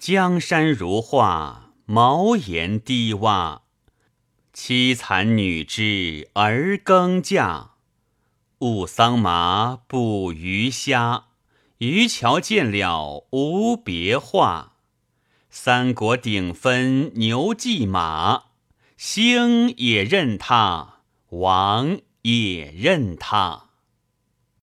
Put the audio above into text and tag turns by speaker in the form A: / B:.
A: 江山如画，茅檐低洼。凄惨女知儿耕嫁，误桑麻捕鱼虾。渔樵见了无别话，三国鼎分牛骑马。兴也认他，亡也认他。